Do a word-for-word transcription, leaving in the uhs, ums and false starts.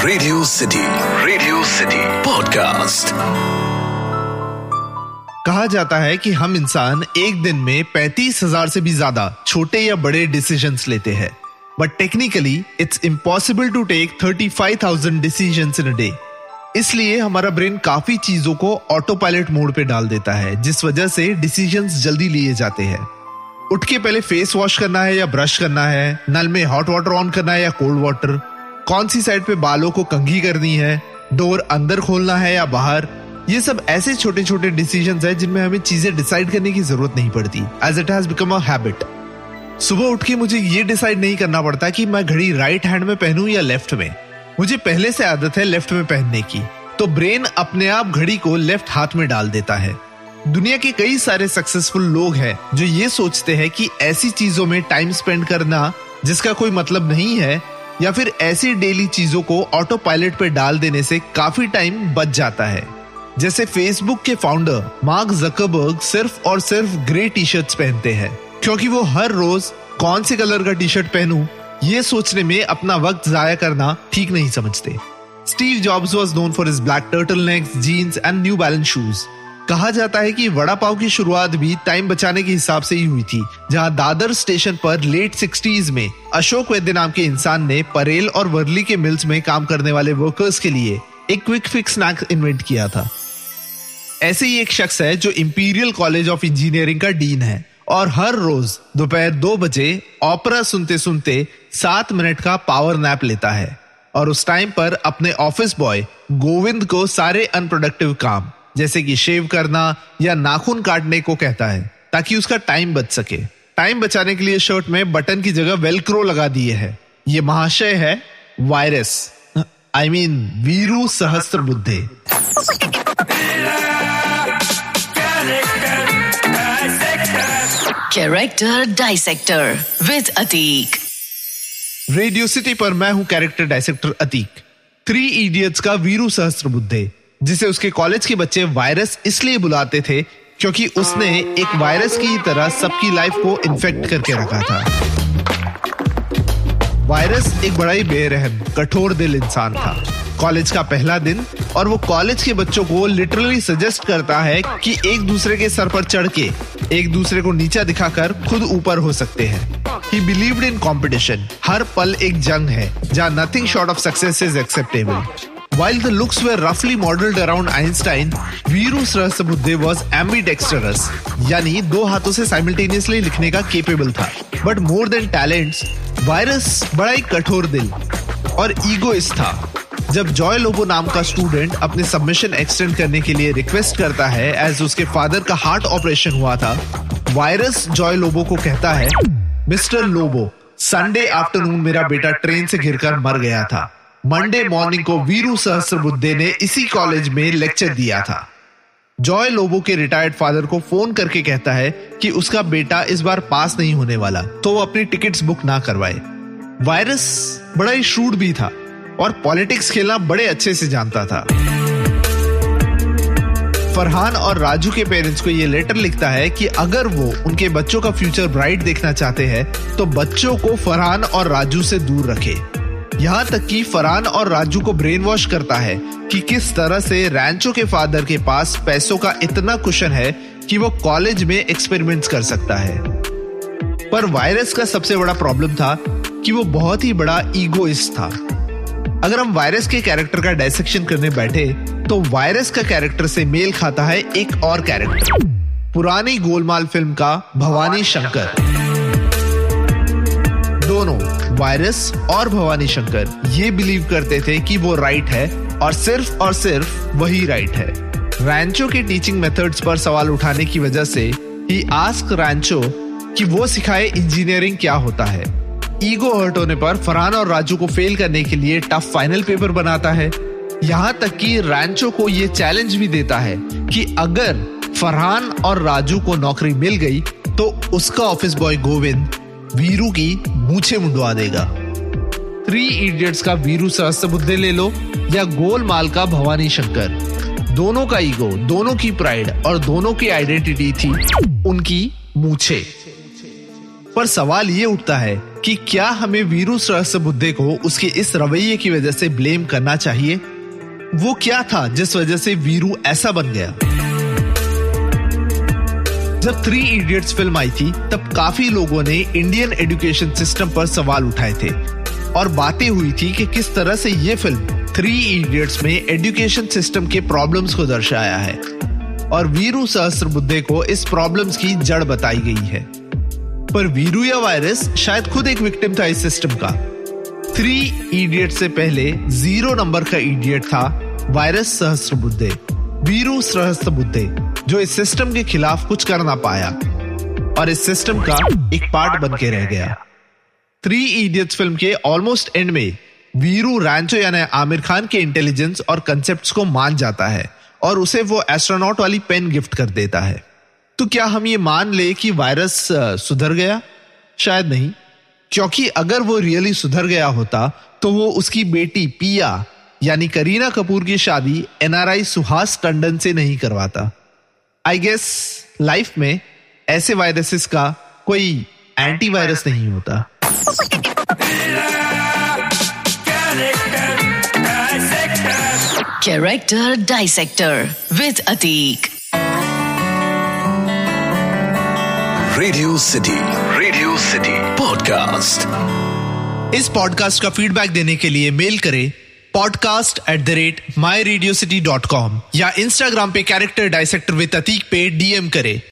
Radio city radio city podcast. कहा जाता है कि हम इंसान एक दिन में पैंतीस हजार से भी ज्यादा छोटे या बड़े डिसीजंस लेते हैं, but technically it's impossible to take thirty five thousand decisions in a day. इसलिए हमारा ब्रेन काफी चीजों को ऑटो पायलट मोड पे डाल देता है, जिस वजह से डिसीजंस जल्दी लिए जाते हैं। उठ के पहले फेस वॉश करना है या ब्रश करना है, नल में हॉट वाटर ऑन करना है या कोल्ड वाटर, कौन सी साइड पे बालों को कंघी करनी है, डोर अंदर खोलना है या बाहर। ये सब ऐसे छोटे छोटे डिसीजंस हैं जिनमें हमें चीजें डिसाइड करने की जरूरत नहीं पड़ती, as it has become a habit. सुबह उठ के मुझे ये डिसाइड नहीं करना पड़ता कि मैं घड़ी राइट हैंड में पहनूं या लेफ्ट में। मुझे पहले से आदत है लेफ्ट में पहनने की, तो ब्रेन अपने आप घड़ी को लेफ्ट हाथ में डाल देता है। दुनिया के कई सारे सक्सेसफुल लोग हैं जो ये सोचते हैं कि ऐसी चीजों में टाइम स्पेंड करना जिसका कोई मतलब नहीं है, या फिर ऐसी डेली चीजों को ऑटो पायलट पे डाल देने से काफी टाइम बच जाता है। जैसे फेसबुक के फाउंडर मार्क जकरबर्ग सिर्फ और सिर्फ ग्रे टी शर्ट्स पहनते हैं, क्योंकि वो हर रोज कौन से कलर का टी शर्ट पहनूं ये सोचने में अपना वक्त जाया करना ठीक नहीं समझते। Steve jobs was known for his black टर्टलनेक्स, jeans and new balance shoes. कहा जाता है कि वड़ा पाव की शुरुआत भी टाइम बचाने के हिसाब से ही हुई थी, जहां दादर स्टेशन पर लेट सिक्सटीज में अशोक वैद्य नाम के इंसान ने परेल और वर्ली के मिल्स में काम करने वाले वर्कर्स के लिए एक क्विक फिक्स स्नैक इन्वेंट किया था। ऐसे ही एक शख्स है जो इंपीरियल कॉलेज ऑफ इंजीनियरिंग का डीन है और हर रोज दोपहर दो बजे ऑपरा सुनते सुनते सात मिनट का पावर नैप लेता है और उस टाइम पर अपने ऑफिस बॉय गोविंद को सारे अनप्रोडक्टिव काम जैसे कि शेव करना या नाखून काटने को कहता है, ताकि उसका टाइम बच सके। टाइम बचाने के लिए शर्ट में बटन की जगह वेलक्रो लगा दिए है। ये महाशय है virus, I mean Veeru Sahasrabuddhe. Character dissector with Atiq. Radio city पर मैं हूं character dissector Atiq. Three idiots का वीरू सहस्त्रबुद्धे, जिसे उसके कॉलेज के बच्चे वायरस इसलिए बुलाते थे क्योंकि उसने एक वायरस की तरह सबकी लाइफ को इन्फेक्ट करके रखा था। वायरस एक बड़ा ही बेरहम, कठोर दिल इंसान था। कॉलेज का पहला दिन और वो कॉलेज के बच्चों को लिटरली सजेस्ट करता है कि एक दूसरे के सर पर चढ़ के एक दूसरे को नीचा दिखाकर खुद ऊपर हो सकते हैं। He believed in competition. हर पल एक जंग है जहाँ nothing short of success is acceptable. While the looks were roughly modeled around Einstein, Veeru Sahasrabuddhe was ambidextrous, यानी दो हाथों से simultaneously लिखने का capable था। But more than talents, virus बड़ा ही कठोर दिल और ईगोइस्ट था। जब जॉय लोबो नाम का स्टूडेंट अपने सबमिशन एक्सटेंड करने के लिए रिक्वेस्ट करता है एज उसके फादर का हार्ट ऑपरेशन हुआ था, वायरस जॉय लोबो को कहता है, मिस्टर लोबो, संडे आफ्टरनून मेरा बेटा ट्रेन से गिरकर मर गया था। मंडे मॉर्निंग को वीरू सहस्त्रबुद्धे ने इसी कॉलेज में लेक्चर दिया था। जॉय लोबो के रिटायर्ड फादर को फोन करके कहता है कि उसका बेटा इस बार पास नहीं होने वाला, तो वो अपनी टिकट्स बुक ना करवाए। वायरस बड़ा ही श्रूड भी था और पॉलिटिक्स खेलना बड़े अच्छे से जानता था। फरहान और राजू के पेरेंट्स को ये लेटर लिखता है कि अगर वो उनके बच्चों का फ्यूचर ब्राइट देखना चाहते हैं तो बच्चों को फरहान और राजू से दूर रखे। यहाँ तक कि फरहान और राजू को ब्रेन वॉश करता है कि किस तरह से रैंचो के फादर के पास पैसों का इतना कुशन है कि वो कॉलेज में एक्सपेरिमेंट्स कर सकता है। पर वायरस का सबसे बड़ा प्रॉब्लम था कि वो बहुत ही बड़ा ईगोइस्ट था। अगर हम वायरस के कैरेक्टर का डायसेक्शन करने बैठे तो वायरस का कैरेक्टर से मेल खाता है एक और कैरेक्टर, पुरानी गोलमाल फिल्म का भवानी शंकर। दोनों वायरस और भवानी शंकर ये बिलीव करते थे कि वो राइट है और सिर्फ और सिर्फ वही राइट है। रैंचो के टीचिंग मेथड्स पर सवाल उठाने की वजह से ही आस्क रैंचो कि वो सिखाए इंजीनियरिंग क्या होता है। ईगो हर्ट होने पर फरहान और राजू को फेल करने के लिए टफ फाइनल पेपर बनाता है। यहाँ तक कि रैंचो को ये चैलेंज भी देता है कि अगर फरहान और राजू को नौकरी मिल गई तो उसका ऑफिस बॉय गोविंद वीरू की मूछें मुंडवा देगा। थ्री इडियट्स का वीरू सहस्त्रबुद्धे ले लो या गोलमाल का भवानी शंकर, दोनों का ईगो, दोनों की प्राइड और दोनों की आइडेंटिटी थी उनकी मूछें। पर सवाल ये उठता है कि क्या हमें वीरू सहस्त्रबुद्धे को उसके इस रवैये की वजह से ब्लेम करना चाहिए? वो क्या था जिस वजह से वीरू ऐसा बन गया? जब थ्री इडियट्स फिल्म आई थी तब काफी लोगों ने इंडियन एजुकेशन सिस्टम पर सवाल उठाए थे और बातें हुई थी कि किस तरह से ये फिल्म थ्री इडियट्स में एजुकेशन सिस्टम के प्रॉब्लम्स को दर्शाया है और वीरू सहस्त्रबुद्धे को इस प्रॉब्लम्स की जड़ बताई गई है। पर वीरू या वायरस शायद खुद एक विक्टिम था इस सिस्टम का। थ्री इडियट से पहले जीरो नंबर का इडियट था वायरस सहस्त्रबुद्धे, वीरू सहस्त्रबुद्धे, जो इस सिस्टम के खिलाफ कुछ कर ना पाया और इस सिस्टम का एक पार्ट बन के रह गया। थ्री इडियट्स फिल्म के ऑलमोस्ट एंड में वीरू रैंचो यानी आमिर खान के इंटेलिजेंस और कंसेप्ट्स को मान जाता है और उसे वो एस्ट्रोनॉट वाली पेन गिफ्ट कर देता है। तो क्या हम ये मान ले कि वायरस सुधर गया? शायद नहीं, क्योंकि अगर वो रियली सुधर गया होता तो वो उसकी बेटी पिया यानी करीना कपूर की शादी एनआरआई सुहास टंडन से नहीं करवाता। आई गेस लाइफ में ऐसे वायरसेस का कोई एंटीवायरस नहीं होता। Character Dissector with Atik. Radio city radio city podcast. इस पॉडकास्ट का फीडबैक देने के लिए मेल करें podcast at the rate my radio city dot com या इंस्टाग्राम पे कैरेक्टर डाइसेक्टर विद अतीक पे डीएम करें।